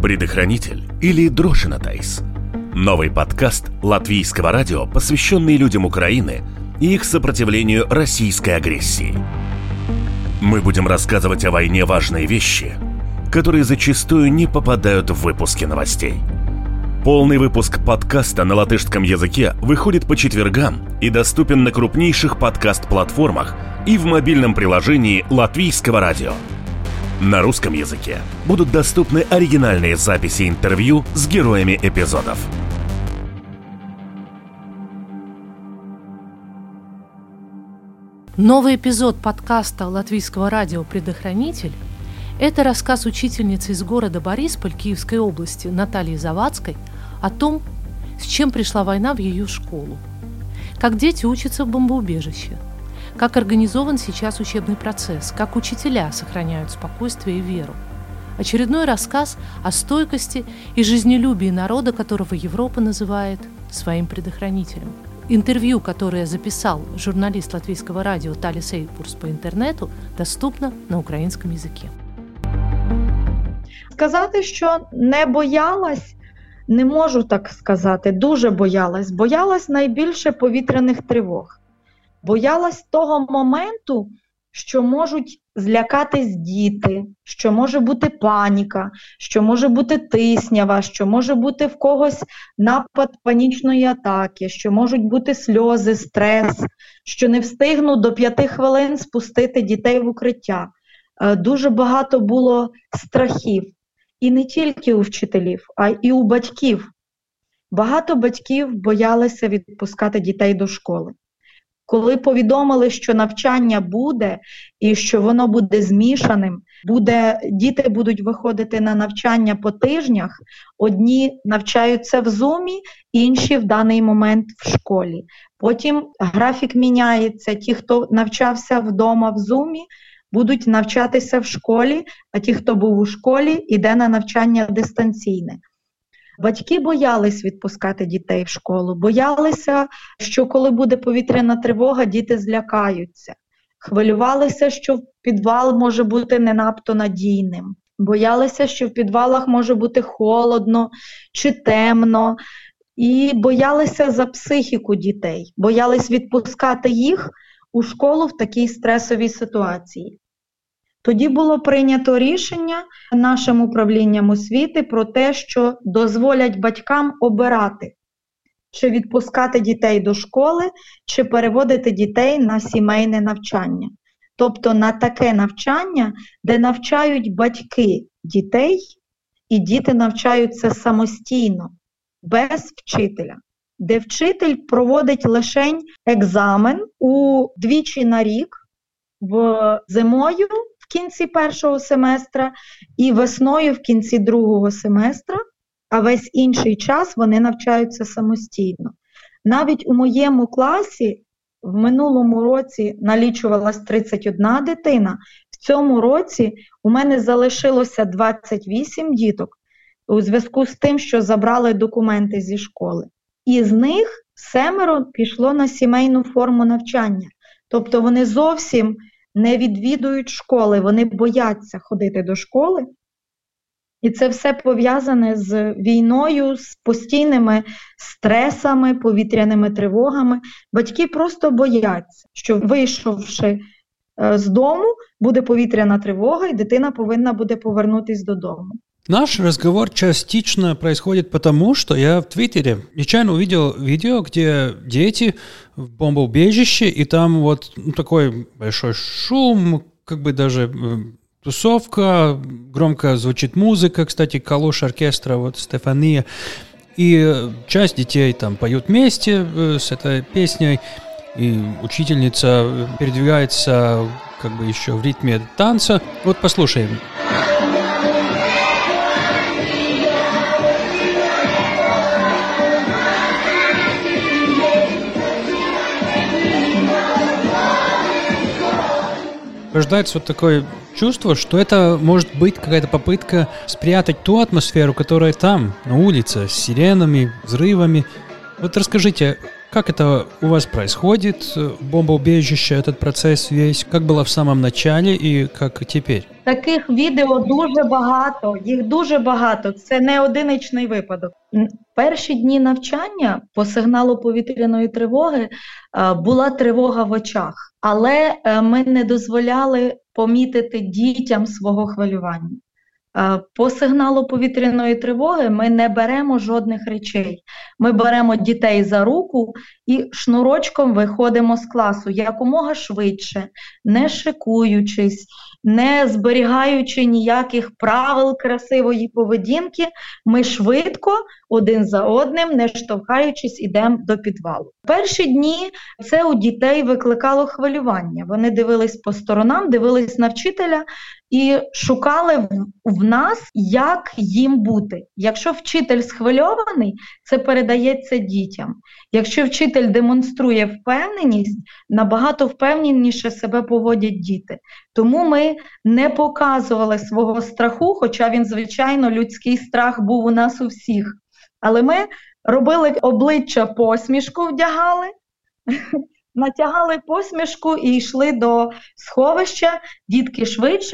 Предохранитель или Дрошинатайс. Новый подкаст Латвийского радио, посвященный людям Украины и их сопротивлению российской агрессии. Мы будем рассказывать о войне важные вещи, которые зачастую не попадают в выпуски новостей. Полный выпуск подкаста на латышском языке выходит по четвергам и доступен на крупнейших подкаст-платформах и в мобильном приложении Латвийского радио. На русском языке будут доступны оригинальные записи интервью с героями эпизодов. Новый эпизод подкаста Латвийского радио «Предохранитель» – это рассказ учительницы из города Борисполь Киевской области Натальи Завадской о том, с чем пришла война в ее школу, как дети учатся в бомбоубежище, как организован сейчас учебный процесс, как учителя сохраняют спокойствие и веру. Очередной рассказ о стойкости и жизнелюбии народа, которого Европа называет своим предохранителем. Интервью, которое записал журналист Латвийского радио Талис Эйпурс по интернету, доступно на українському язикі. Сказати, що не боялась, не можу так сказати, дуже боялась. Боялась найбільше повітряних тривог. Боялась того моменту, що можуть злякатись діти, що може бути паніка, що може бути тиснява, що може бути в когось напад панічної атаки, що можуть бути сльози, стрес, що не встигну до 5 хвилин спустити дітей в укриття. Дуже багато було страхів. І не тільки у вчителів, а й у батьків. Багато батьків боялися відпускати дітей до школи. Коли повідомили, що навчання буде і що воно буде змішаним, діти будуть виходити на навчання по тижнях, одні навчаються в Зумі, інші в даний момент в школі. Потім графік міняється, ті, хто навчався вдома в Зумі, будуть навчатися в школі, а ті, хто був у школі, йде на навчання дистанційне. Батьки боялись відпускати дітей в школу, боялися, що коли буде повітряна тривога, діти злякаються. Хвилювалися, що підвал може бути не надто надійним. Боялися, що в підвалах може бути холодно чи темно. І боялися за психіку дітей, боялись відпускати їх у школу в такій стресовій ситуації. Тоді було прийнято рішення нашим управлінням освіти про те, що дозволять батькам обирати, чи відпускати дітей до школи, чи переводити дітей на сімейне навчання. Тобто на таке навчання, де навчають батьки дітей, і діти навчаються самостійно, без вчителя. Де вчитель проводить лише екзамен двічі на рік, зимою в кінці першого семестра і весною в кінці другого семестра, а весь інший час вони навчаються самостійно. Навіть у моєму класі в минулому році налічувалась 31 дитина, в цьому році у мене залишилося 28 діток у зв'язку з тим, що забрали документи зі школи. Із них 7 пішло на сімейну форму навчання. Тобто вони зовсім не відвідують школи, вони бояться ходити до школи. І це все пов'язане з війною, з постійними стресами, повітряними тривогами. Батьки просто бояться, що вийшовши з дому, буде повітряна тривога, і дитина повинна буде повернутися додому. Наш разговор частично происходит потому, что я в Твиттере нечаянно увидел видео, где дети в бомбоубежище, и там вот такой большой шум, как бы даже тусовка, громко звучит музыка, кстати, калош оркестра, вот Стефания, и часть детей там поют вместе с этой песней, и учительница передвигается как бы еще в ритме танца. Вот послушаем. Рождается вот такое чувство, что это может быть какая-то попытка спрятать ту атмосферу, которая там, на улице, с сиренами, взрывами. Вот расскажите, Как это у вас происходит, бомбоубежище, этот процесс весь? Как было в самом начале и как теперь? Таких відео дуже багато, їх дуже багато. Це не одиничний випадок. Перші дні навчання по сигналу повітряної тривоги була тривога в очах, але ми не дозволяли помітити дітям свого хвилювання. По сигналу повітряної тривоги ми не беремо жодних речей. Ми беремо дітей за руку і шнурочком виходимо з класу якомога швидше, не шикуючись, не зберігаючи ніяких правил красивої поведінки, ми швидко один за одним, не штовхаючись, ідемо до підвалу. Перші дні це у дітей викликало хвилювання. Вони дивились по сторонам, дивились на вчителя і шукали в нас, як їм бути. Якщо вчитель схвильований, це передається дітям. Якщо вчитель демонструє впевненість, набагато впевненіше себе поводять діти. Тому ми не показували свого страху, хоча він, звичайно, людський страх був у нас у всіх. Але ми робили обличчя посмішку, вдягали, натягали посмішку і йшли до сховища, дітки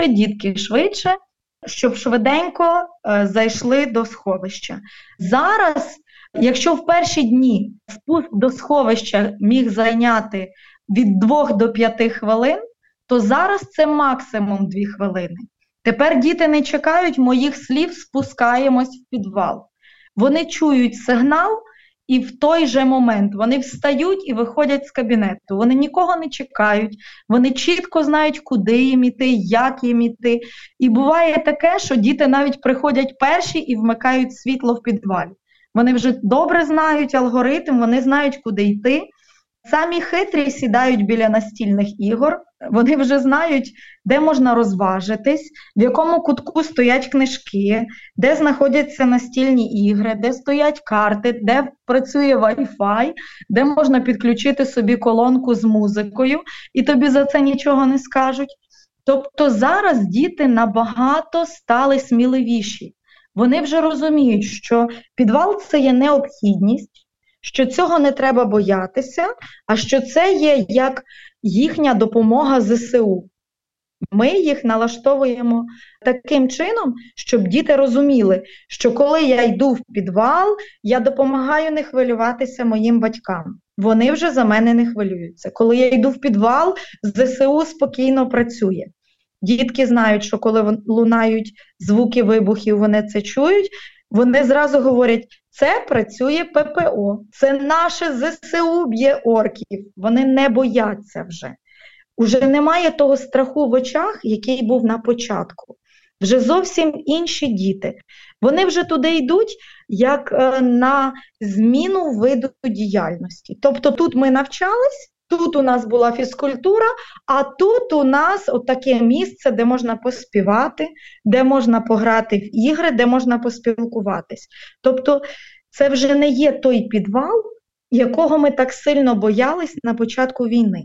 швидше, щоб швиденько зайшли до сховища. Зараз, якщо в перші дні спуск до сховища міг зайняти від 2 до 5 хвилин, то зараз це максимум 2 хвилини. Тепер діти не чекають моїх слів, спускаємось в підвал. Вони чують сигнал, і в той же момент вони встають і виходять з кабінету. Вони нікого не чекають, вони чітко знають, куди їм іти, як їм іти. І буває таке, що діти навіть приходять перші і вмикають світло в підвалі. Вони вже добре знають алгоритм, вони знають, куди йти. Самі хитрі сідають біля настільних ігор, вони вже знають, де можна розважитись, в якому кутку стоять книжки, де знаходяться настільні ігри, де стоять карти, де працює Wi-Fi, де можна підключити собі колонку з музикою, і тобі за це нічого не скажуть. Тобто зараз діти набагато стали сміливіші. Вони вже розуміють, що підвал – це є необхідність, що цього не треба боятися, а що це є як їхня допомога ЗСУ. Ми їх налаштовуємо таким чином, щоб діти розуміли, що коли я йду в підвал, я допомагаю не хвилюватися моїм батькам. Вони вже за мене не хвилюються. Коли я йду в підвал, ЗСУ спокійно працює. Дітки знають, що коли лунають звуки вибухів, вони це чують, вони зразу говорять, це працює ППО, це наше ЗСУ б'є орків, вони не бояться вже. Уже немає того страху в очах, який був на початку. Вже зовсім інші діти. Вони вже туди йдуть, як на зміну виду діяльності. Тобто тут ми навчались, тут у нас була фізкультура, а тут у нас отаке місце, де можна поспівати, де можна пограти в ігри, де можна поспілкуватись. Тобто це вже не є той підвал, якого ми так сильно боялись на початку війни.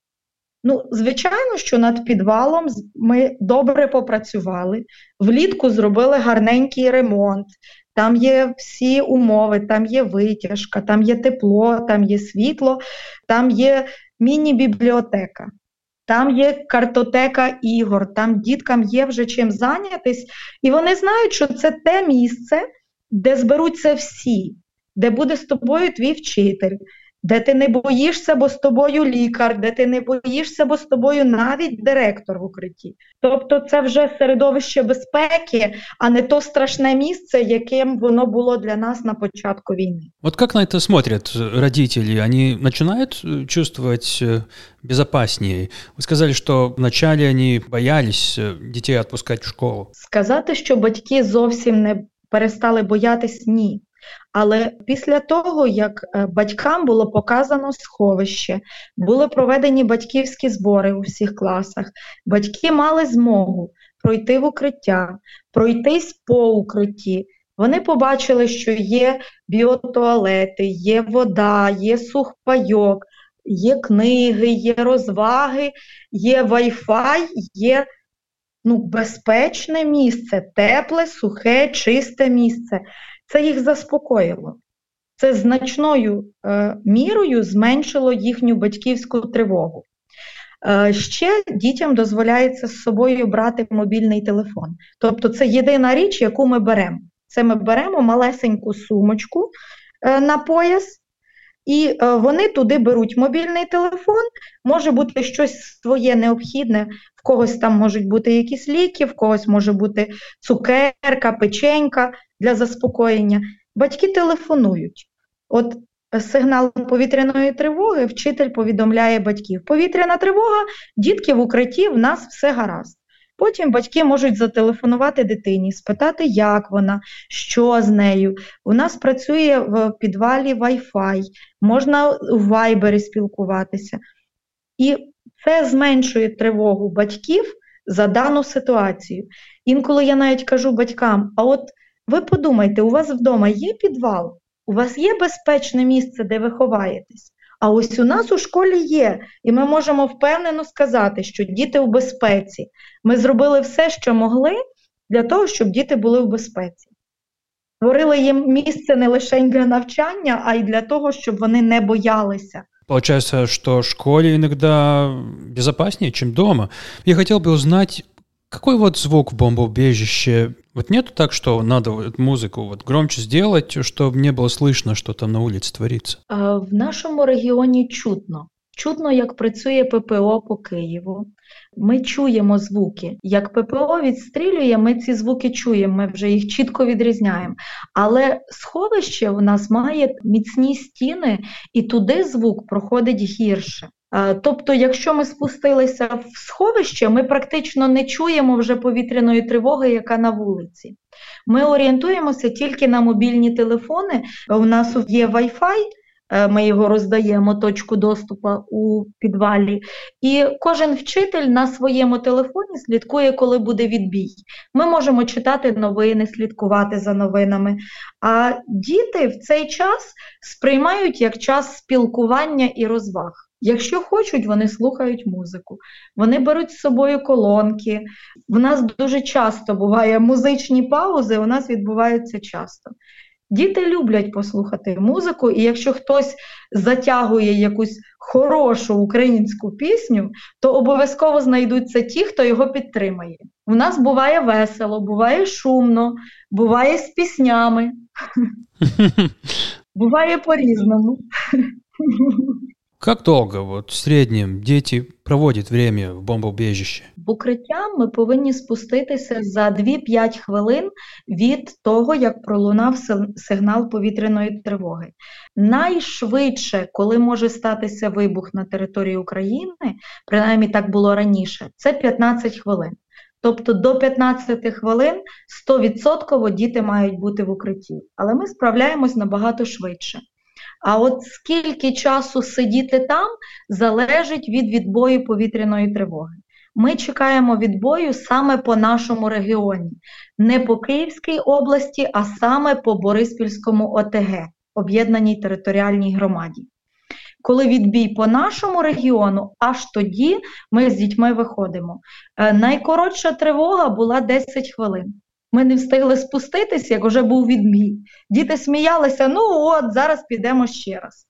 Ну, звичайно, що над підвалом ми добре попрацювали, влітку зробили гарненький ремонт, там є всі умови, там є витяжка, там є тепло, там є світло, там є міні-бібліотека, там є картотека ігор, там діткам є вже чим зайнятись, і вони знають, що це те місце, де зберуться всі, де буде з тобою твій вчитель, де ти не боїшся, бо з тобою лікар, де ти не боїшся, бо з тобою навіть директор в укритті. Тобто це вже середовище безпеки, а не то страшне місце, яким воно було для нас на початку війни. Вот как на это смотрят родители? Они начинают чувствовать безопаснее? Вы сказали, что вначале они боялись детей отпускать в школу. Сказати, що батьки зовсім не перестали боятись – ні. Але після того, як батькам було показано сховище, були проведені батьківські збори у всіх класах, батьки мали змогу пройти в укриття, пройтись по укритті. Вони побачили, що є біотуалети, є вода, є сухпайок, є книги, є розваги, є Wi-Fi, є безпечне місце, тепле, сухе, чисте місце. Це їх заспокоїло. Це значною мірою зменшило їхню батьківську тривогу. Ще дітям дозволяється з собою брати мобільний телефон. Тобто це єдина річ, яку ми беремо. Це ми беремо малесеньку сумочку на пояс, і вони туди беруть мобільний телефон, може бути щось своє необхідне, в когось там можуть бути якісь ліки, в когось може бути цукерка, печенька для заспокоєння. Батьки телефонують. От сигнал повітряної тривоги, вчитель повідомляє батьків. Повітряна тривога, дітки в укритті, в нас все гаразд. Потім батьки можуть зателефонувати дитині, спитати, як вона, що з нею. У нас працює в підвалі Wi-Fi, можна в Viber спілкуватися. І це зменшує тривогу батьків за дану ситуацію. Інколи я навіть кажу батькам, а от ви подумайте, у вас вдома є підвал? У вас є безпечне місце, де ви ховаєтесь? А ось у нас у школі є, і ми можемо впевнено сказати, що діти в безпеці. Ми зробили все, що могли, для того, щоб діти були в безпеці. Створили їм місце не лише для навчання, а й для того, щоб вони не боялися. Получается, что в школе иногда безопаснее, чем дома. Я хотел бы узнать, какой вот звук в бомбоубежище? Вот нету так, что надо музыку вот громче сделать, чтобы не было слышно, что там на улице творится? В нашому регіоні чутно. Чутно, як працює ППО по Києву. Ми чуємо звуки. Як ППО відстрілює, ми ці звуки чуємо, ми вже їх чітко відрізняємо. Але сховище у нас має міцні стіни, і туди звук проходить гірше. Тобто, якщо ми спустилися в сховище, ми практично не чуємо вже повітряної тривоги, яка на вулиці. Ми орієнтуємося тільки на мобільні телефони. У нас є Wi-Fi, ми його роздаємо, точку доступу у підвалі. І кожен вчитель на своєму телефоні слідкує, коли буде відбій. Ми можемо читати новини, слідкувати за новинами. А діти в цей час сприймають як час спілкування і розваг. Якщо хочуть, вони слухають музику, вони беруть з собою колонки. У нас дуже часто буває музичні паузи, у нас відбуваються часто. Діти люблять послухати музику, і якщо хтось затягує якусь хорошу українську пісню, то обов'язково знайдуться ті, хто його підтримає. У нас буває весело, буває шумно, буває з піснями, буває по-різному. Как долго вот в среднем дети проводят время в бомбоубежище? В укриття ми повинні спуститися за 2-5 хвилин від того, як пролунав сигнал повітряної тривоги. Найшвидше, коли може статися вибух на території України, принаймні так було раніше, це 15 хвилин. Тобто до 15 хвилин 100% діти мають бути в укритті. Але ми справляємось набагато швидше. А от скільки часу сидіти там, залежить від відбою повітряної тривоги. Ми чекаємо відбою саме по нашому регіоні. Не по Київській області, а саме по Бориспільському ОТГ, об'єднаній територіальній громаді. Коли відбій по нашому регіону, аж тоді ми з дітьми виходимо. Найкоротша тривога була 10 хвилин. Ми не встигли спуститись, як вже був відбій. Діти сміялися, ну от, зараз підемо ще раз.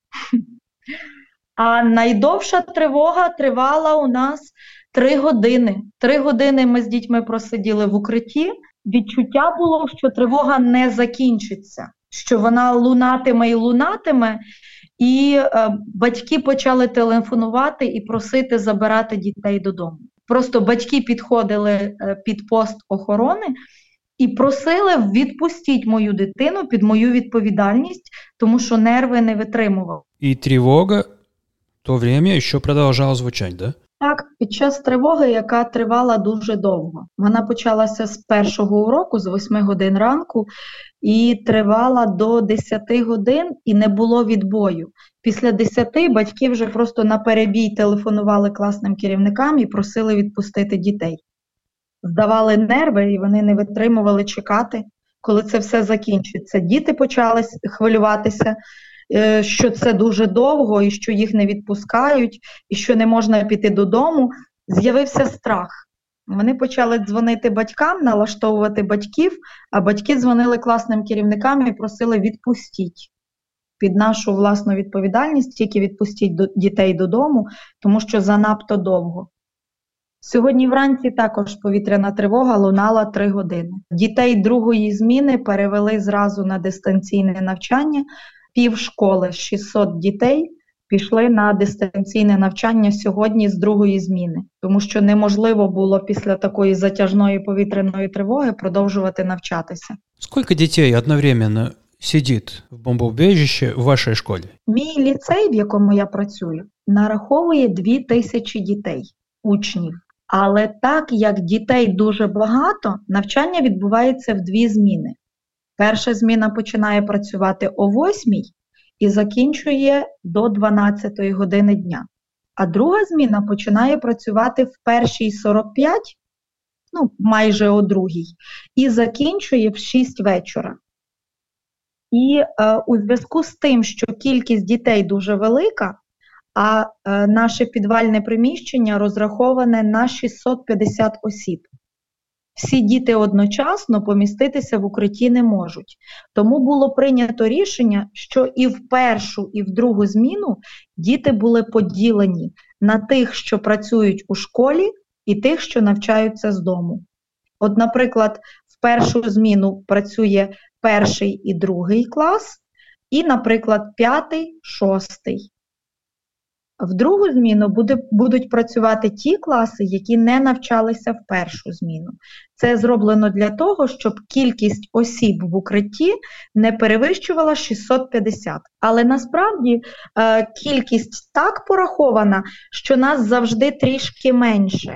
А найдовша тривога тривала у нас 3 години. 3 години ми з дітьми просиділи в укритті. Відчуття було, що тривога не закінчиться, що вона лунатиме і лунатиме. І батьки почали телефонувати і просити забирати дітей додому. Просто батьки підходили під пост охорони і просили, відпустіть мою дитину під мою відповідальність, тому що нерви не витримували. І тривога в то время ще продовжала звучати, да? Так, під час тривоги, яка тривала дуже довго. Вона почалася з першого уроку, з 8 годин ранку, і тривала до 10 годин, і не було відбою. Після 10 батьки вже просто на перебій телефонували класним керівникам і просили відпустити дітей. Здавали нерви, і вони не витримували чекати, коли це все закінчиться. Діти почали хвилюватися, що це дуже довго, і що їх не відпускають, і що не можна піти додому. З'явився страх. Вони почали дзвонити батькам, налаштовувати батьків, а батьки дзвонили класним керівникам і просили відпустіть. під нашу власну відповідальність, тільки відпустіть дітей додому, тому що занадто довго. Сьогодні вранці також повітряна тривога лунала 3 години. Дітей другої зміни перевели зразу на дистанційне навчання. Півшколи, 600 дітей, пішли на дистанційне навчання сьогодні з другої зміни, тому що неможливо було після такої затяжної повітряної тривоги продовжувати навчатися. Скільки дітей одновременно сидить в бомбоубежищі в вашій школі? Мій ліцей, в якому я працюю, нараховує 2000 дітей, учнів. Але так як дітей дуже багато, навчання відбувається в 2 зміни. Перша зміна починає працювати о 8 і закінчує до 12 години дня. А друга зміна починає працювати в 1:45, майже о 2, і закінчує в 6 вечора. І у зв'язку з тим, що кількість дітей дуже велика, а наше підвальне приміщення розраховане на 650 осіб. Всі діти одночасно поміститися в укритті не можуть. Тому було прийнято рішення, що і в першу, і в другу зміну діти були поділені на тих, що працюють у школі, і тих, що навчаються з дому. От, наприклад, в першу зміну працює 1 і 2 клас, і, наприклад, 5, 6. В другу зміну будуть працювати ті класи, які не навчалися в першу зміну. Це зроблено для того, щоб кількість осіб в укритті не перевищувала 650. Але насправді кількість так порахована, що нас завжди трішки менше.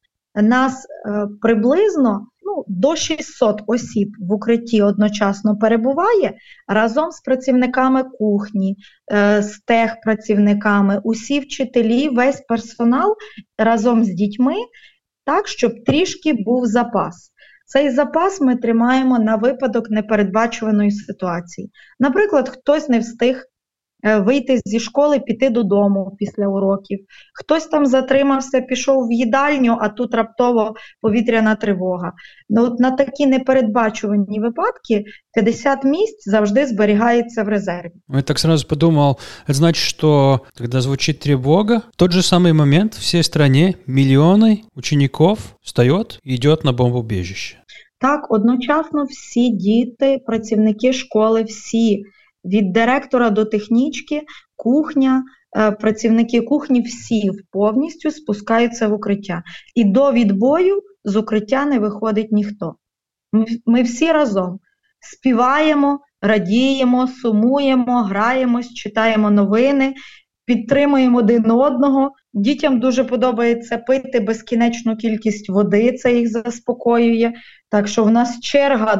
Нас приблизно до 600 осіб в укритті одночасно перебуває разом з працівниками кухні, з техпрацівниками, усі вчителі, весь персонал разом з дітьми, так, щоб трішки був запас. Цей запас ми тримаємо на випадок непередбачуваної ситуації. Наприклад, хтось не встиг вийти зі школи, піти додому після уроків. Хтось там затримався, пішов в їдальню, а тут раптово повітряна тривога. На такі непередбачувані випадки 50 місць завжди зберігається в резерві. Я так сразу подумал, это значит, что когда звучит тревога, в тот же самый момент в всей стране миллионы учеников встает и идет на бомбоубежище. Так, одночасно всі діти, працівники школи, всі, від директора до технічки, кухня, працівники кухні, всі повністю спускаються в укриття. І до відбою з укриття не виходить ніхто. Ми всі разом співаємо, радіємо, сумуємо, граємось, читаємо новини, підтримуємо один одного. Дітям дуже подобається пити безкінечну кількість води, це їх заспокоює. Так що в нас черга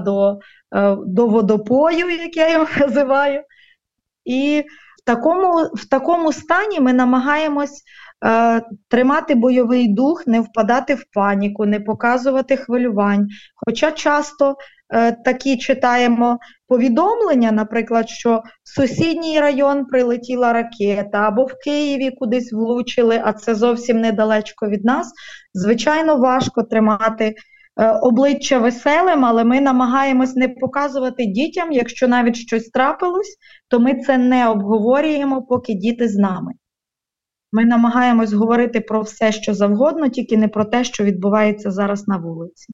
до водопою, як я його називаю. І в такому стані ми намагаємось тримати бойовий дух, не впадати в паніку, не показувати хвилювань. Хоча часто такі читаємо повідомлення, наприклад, що в сусідній район прилетіла ракета, або в Києві кудись влучили, а це зовсім недалечко від нас. Звичайно, важко тримати обличчя веселим, але ми намагаємось не показувати дітям, якщо навіть щось трапилось, то ми це не обговорюємо, поки діти з нами. Ми намагаємось говорити про все, що завгодно, тільки не про те, що відбувається зараз на вулиці.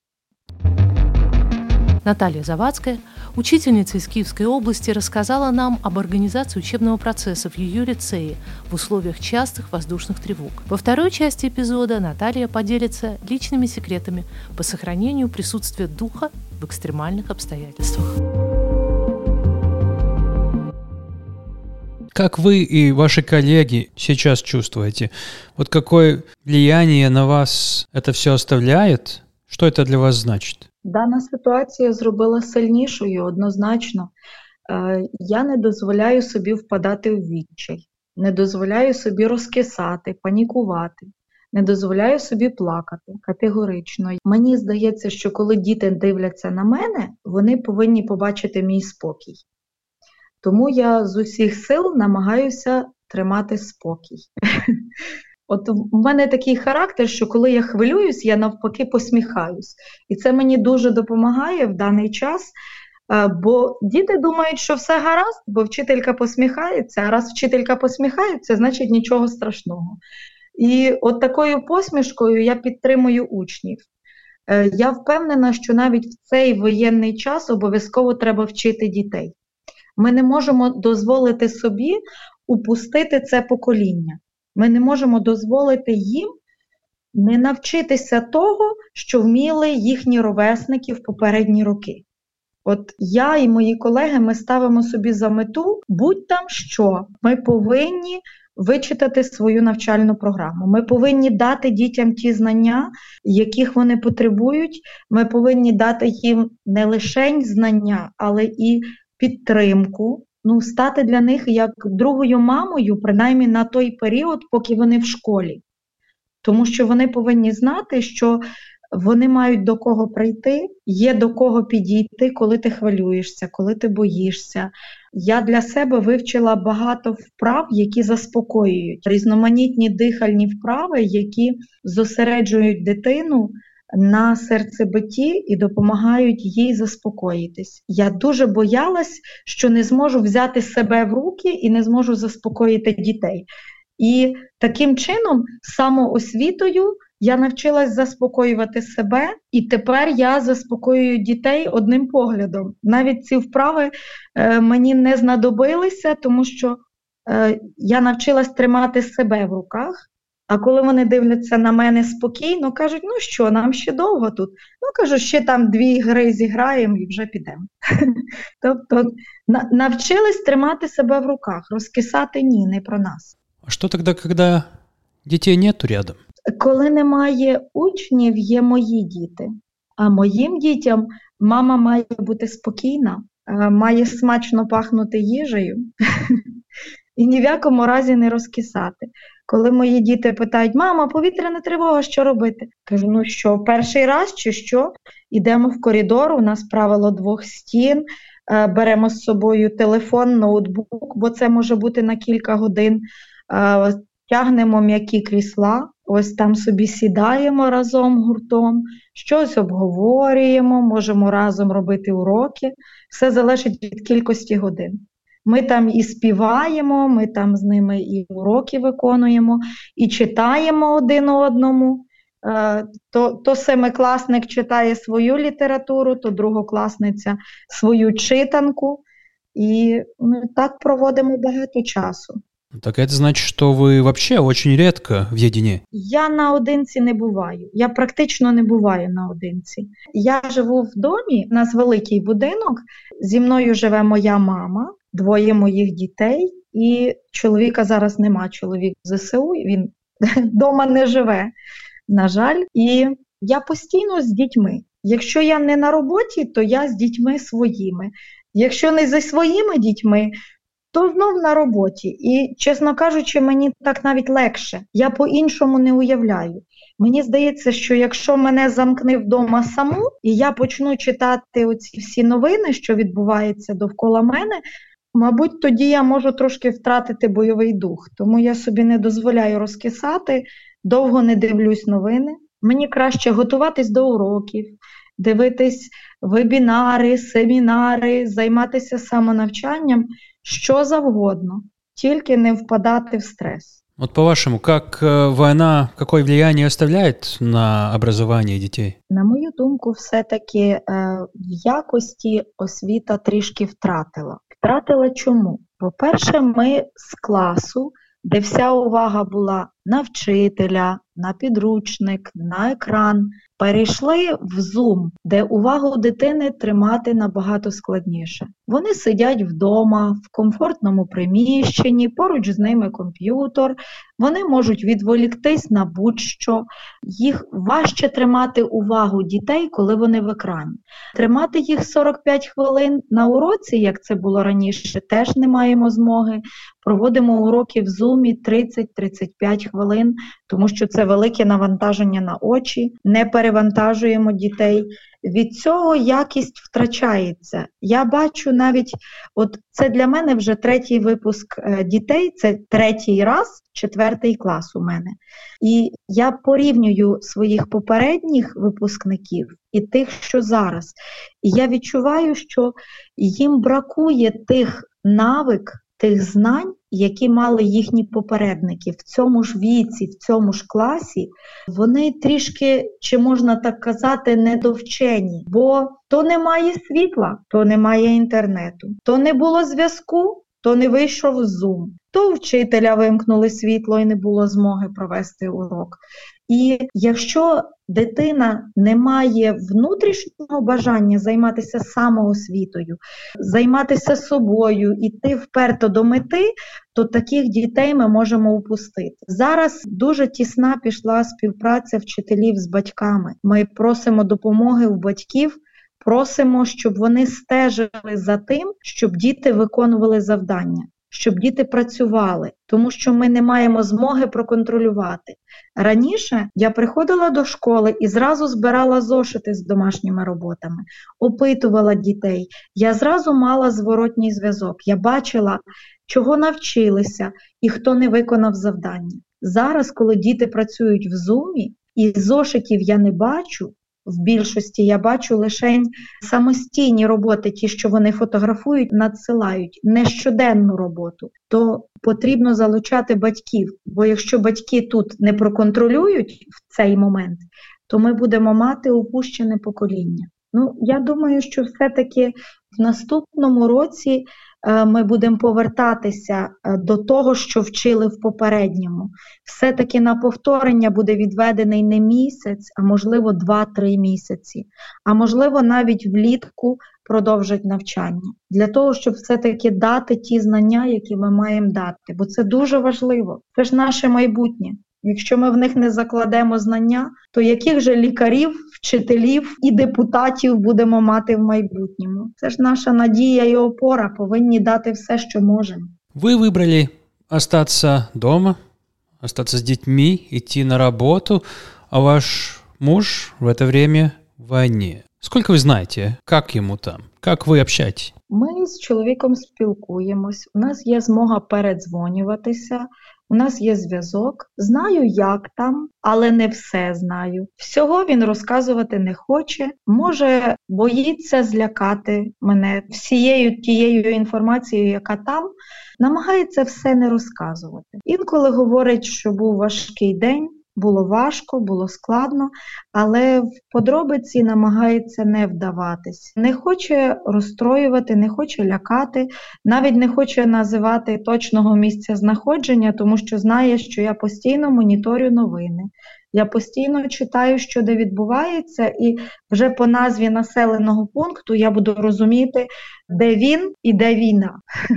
Наталья Завадская, учительница из Киевской области, рассказала нам об организации учебного процесса в ее лицее в условиях частых воздушных тревог. Во второй части эпизода Наталья поделится личными секретами по сохранению присутствия духа в экстремальных обстоятельствах. Как вы и ваши коллеги сейчас чувствуете? Вот какое влияние на вас это все оставляет? Что это для вас значит? Дана ситуація зробила сильнішою, однозначно. Я не дозволяю собі впадати в відчай, не дозволяю собі розкисати, панікувати, не дозволяю собі плакати категорично. Мені здається, що коли діти дивляться на мене, вони повинні побачити мій спокій. Тому я з усіх сил намагаюся тримати спокій. От в мене такий характер, що коли я хвилююсь, я навпаки посміхаюсь. І це мені дуже допомагає в даний час Бо діти думають, що все гаразд, бо вчителька посміхається, а раз вчителька посміхається, значить нічого страшного. І от такою посмішкою я підтримую учнів. Я впевнена, що навіть в цей воєнний час обов'язково треба вчити дітей. Ми не можемо дозволити собі упустити це покоління. Ми не можемо дозволити їм не навчитися того, що вміли їхні ровесники в попередні роки. От я і мої колеги, ми ставимо собі за мету, будь там що, ми повинні вичитати свою навчальну програму. Ми повинні дати дітям ті знання, яких вони потребують. Ми повинні дати їм не лише знання, але і підтримку. Стати для них як другою мамою, принаймні на той період, поки вони в школі. Тому що вони повинні знати, що вони мають до кого прийти, є до кого підійти, коли ти хвилюєшся, коли ти боїшся. Я для себе вивчила багато вправ, які заспокоюють. Різноманітні дихальні вправи, які зосереджують дитину на серцебитті і допомагають їй заспокоїтись. Я дуже боялась, що не зможу взяти себе в руки і не зможу заспокоїти дітей. І таким чином, самоосвітою, я навчилась заспокоювати себе, і тепер я заспокоюю дітей одним поглядом. Навіть ці вправи мені не знадобилися, тому що я навчилась тримати себе в руках, а коли вони дивляться на мене спокійно, кажуть, що, нам ще довго тут? Кажу, ще там 2 гри зіграємо і вже підемо. Тобто навчились тримати себе в руках, розкисати ні, не про нас. А що тоді, коли дітей нету рядом? Коли немає учнів, є мої діти. А моїм дітям мама має бути спокійна, має смачно пахнути їжею і ні в якому разі не розкисати. Коли мої діти питають, мама, повітряна тривога, що робити? Кажу, що, перший раз чи що? Ідемо в коридор, у нас правило 2 стін, беремо з собою телефон, ноутбук, бо це може бути на кілька годин, тягнемо м'які крісла, ось там собі сідаємо разом гуртом, щось обговорюємо, можемо разом робити уроки, все залежить від кількості годин. Ми там і співаємо, ми там з ними і уроки виконуємо, і читаємо один одному. То семикласник читає свою літературу, то другокласниця свою читанку. І так проводимо багато часу. Так это значит, что вы вообще очень редко в єдині? Я наодинці не буваю. Я практично не буваю наодинці. Я живу в домі, у нас великий будинок, зі мною живе моя мама, 2 моїх дітей, і чоловіка зараз нема, чоловік в ЗСУ, він вдома не живе, на жаль. І я постійно з дітьми. Якщо я не на роботі, то я з дітьми своїми. Якщо не зі своїми дітьми, то знов на роботі. І, чесно кажучи, мені так навіть легше. Я по-іншому не уявляю. Мені здається, що якщо мене замкне вдома саму, і я почну читати оці всі новини, що відбуваються довкола мене, мабуть, тоді я можу трошки втратити бойовий дух. Тому я собі не дозволяю розкисати, довго не дивлюсь новини. Мені краще готуватись до уроків, дивитись вебінари, семінари, займатися самонавчанням, що завгодно, тільки не впадати в стрес. Вот по-вашему, как война, какое влияние оставляет на образование детей? На мою думку, все-таки в якості освіта трішки втратила. Втратила чому? По-перше, ми з класу, де вся увага була на вчителя, на підручник, на екран, перейшли в Zoom, де увагу дитини тримати набагато складніше. Вони сидять вдома, в комфортному приміщенні, поруч з ними комп'ютер, вони можуть відволіктись на будь-що. Їх важче тримати увагу дітей, коли вони в екрані. Тримати їх 45 хвилин на уроці, як це було раніше, теж не маємо змоги. Проводимо уроки в Zoom 30-35 хвилин, тому що це велике навантаження на очі, не перевантажуємо дітей. від цього якість втрачається. Я бачу навіть, от це для мене вже 3-й випуск дітей, це 3-й раз, 4-й клас у мене. І я порівнюю своїх попередніх випускників і тих, що зараз. І я відчуваю, що їм бракує тих навик, тих знань, які мали їхні попередники. В цьому ж віці, в цьому ж класі, вони трішки, чи можна так казати, недовчені. Бо то немає світла, то немає інтернету, то не було зв'язку, то не вийшов Zoom, то вчителя вимкнули світло і не було змоги провести урок. І якщо дитина не має внутрішнього бажання займатися самоосвітою, займатися собою, іти вперто до мети, то таких дітей ми можемо упустити. Зараз дуже тісна пішла співпраця вчителів з батьками. Ми просимо допомоги у батьків, просимо, щоб вони стежили за тим, щоб діти виконували завдання, щоб діти працювали, тому що ми не маємо змоги проконтролювати. Раніше я приходила до школи і зразу збирала зошити з домашніми роботами, опитувала дітей, я зразу мала зворотній зв'язок, я бачила, чого навчилися і хто не виконав завдання. Зараз, коли діти працюють в Zoom, і зошитів я не бачу, в більшості я бачу лише самостійні роботи, ті, що вони фотографують, надсилають, не щоденну роботу, то потрібно залучати батьків. Бо якщо батьки тут не проконтролюють в цей момент, то ми будемо мати упущене покоління. Я думаю, що все-таки в наступному році ми будемо повертатися до того, що вчили в попередньому. Все-таки на повторення буде відведений не місяць, а можливо 2-3 місяці. А можливо навіть влітку продовжать навчання. Для того, щоб все-таки дати ті знання, які ми маємо дати. Бо це дуже важливо. Це ж наше майбутнє. Якщо ми в них не закладемо знання, то яких же лікарів, вчителів і депутатів будемо мати в майбутньому? Це ж наша надія і опора, повинні дати все, що можемо. Вы выбрали остаться дома, остаться с детьми, идти на работу, а ваш муж в это время в войне. Сколько вы знаете, как ему там? Как вы общаетесь? Ми з чоловіком спілкуємось, у нас є змога передзвонюватися, у нас є зв'язок. Знаю, як там, але не все знаю. Всього він розказувати не хоче. Може, боїться злякати мене всією тією інформацією, яка там. Намагається все не розказувати. Інколи говорить, що був важкий день, було важко, було складно, але в подробиці намагається не вдаватись. Не хоче розстроювати, не хоче лякати, навіть не хоче називати точного місця знаходження, тому що знає, що я постійно моніторю новини. Я постійно читаю, що де відбувається, і вже по назві населеного пункту я буду розуміти, де він і де війна.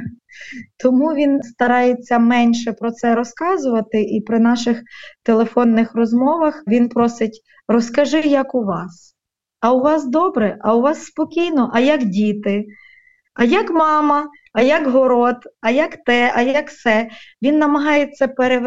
Тому він старається менше про це розказувати, і при наших телефонних розмовах він просить: розкажи, як у вас. А у вас добре? А у вас спокійно? А як діти? А як мама? А як город? А як те? А як се? Він намагається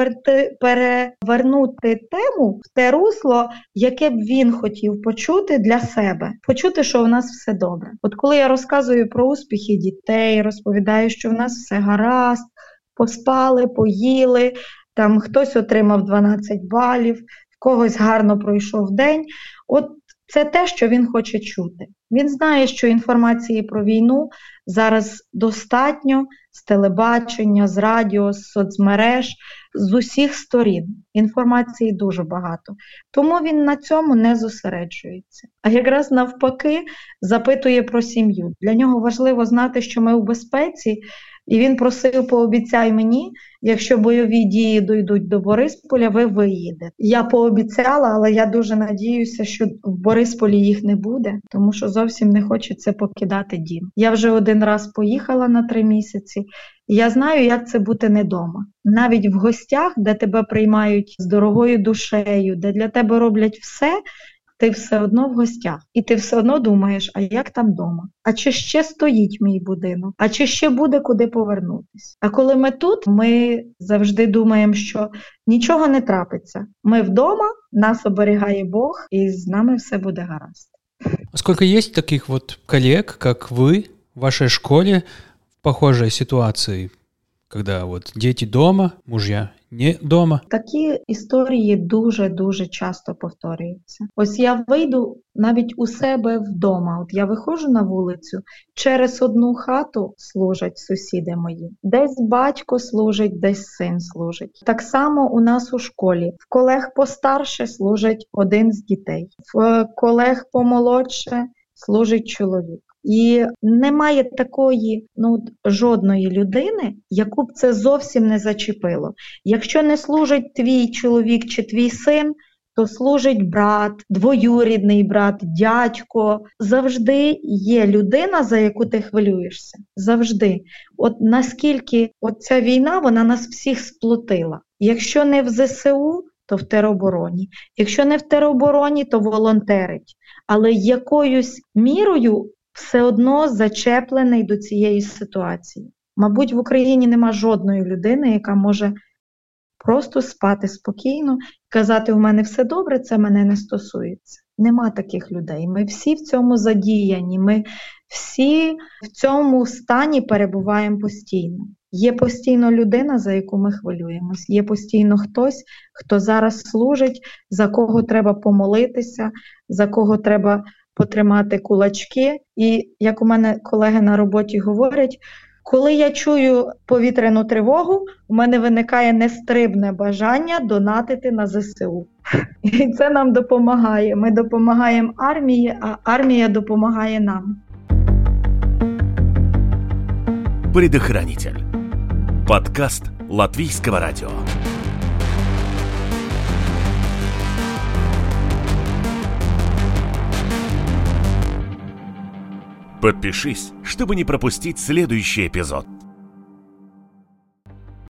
перевернути тему в те русло, яке б він хотів почути для себе. Почути, що у нас все добре. От коли я розказую про успіхи дітей, розповідаю, що в нас все гаразд, поспали, поїли, там хтось отримав 12 балів, в когось гарно пройшов день. От це те, що він хоче чути. Він знає, що інформації про війну зараз достатньо з телебачення, з радіо, з соцмереж, з усіх сторін. Інформації дуже багато. Тому він на цьому не зосереджується. А якраз навпаки запитує про сім'ю. Для нього важливо знати, що ми у безпеці, і він просив: пообіцяй мені, якщо бойові дії дійдуть до Борисполя, ви виїдете. Я пообіцяла, але я дуже надіюся, що в Борисполі їх не буде, тому що зовсім не хочеться покидати дім. Я вже один раз поїхала на 3 місяці, і я знаю, як це бути не дома. Навіть в гостях, де тебе приймають з дорогою душею, де для тебе роблять все, ти все одно в гостях. І ти все одно думаєш: а як там дома? А чи ще стоїть мій будинок? А чи ще буде куди повернутися? А коли ми тут, ми завжди думаємо, що нічого не трапиться. Ми вдома, нас оберігає Бог, і з нами все буде гаразд. Сколько есть таких вот коллег, как вы, в вашей школе, в похожей ситуации, когда вот дети дома, мужья не дома? Такі історії дуже-дуже часто повторюються. Ось я вийду навіть у себе вдома, от я виходжу на вулицю, через одну хату служать сусіди мої. Десь батько служить, десь син служить. Так само у нас у школі. В колег постарше служить один з дітей, в колег помолодше служить чоловік. І немає такої жодної людини, яку б це зовсім не зачепило. Якщо не служить твій чоловік чи твій син, то служить брат, двоюрідний брат, дядько. Завжди є людина, за яку ти хвилюєшся. Завжди. От наскільки ця війна, вона нас всіх сплотила. Якщо не в ЗСУ, то в теробороні. Якщо не в теробороні, то волонтерить. Але якоюсь мірою все одно зачеплений до цієї ситуації. Мабуть, в Україні нема жодної людини, яка може просто спати спокійно, казати, у мене все добре, це мене не стосується. Нема таких людей. Ми всі в цьому задіяні, ми всі в цьому стані перебуваємо постійно. Є постійно людина, за яку ми хвилюємось, є постійно хтось, хто зараз служить, за кого треба помолитися, за кого треба потримати кулачки. І, як у мене колеги на роботі говорять, коли я чую повітряну тривогу, у мене виникає нестрибне бажання донатити на ЗСУ. І це нам допомагає. Ми допомагаємо армії, а армія допомагає нам. Предохранитель. Подкаст Латвийского радио. Подпишись, чтобы не пропустить следующий эпизод.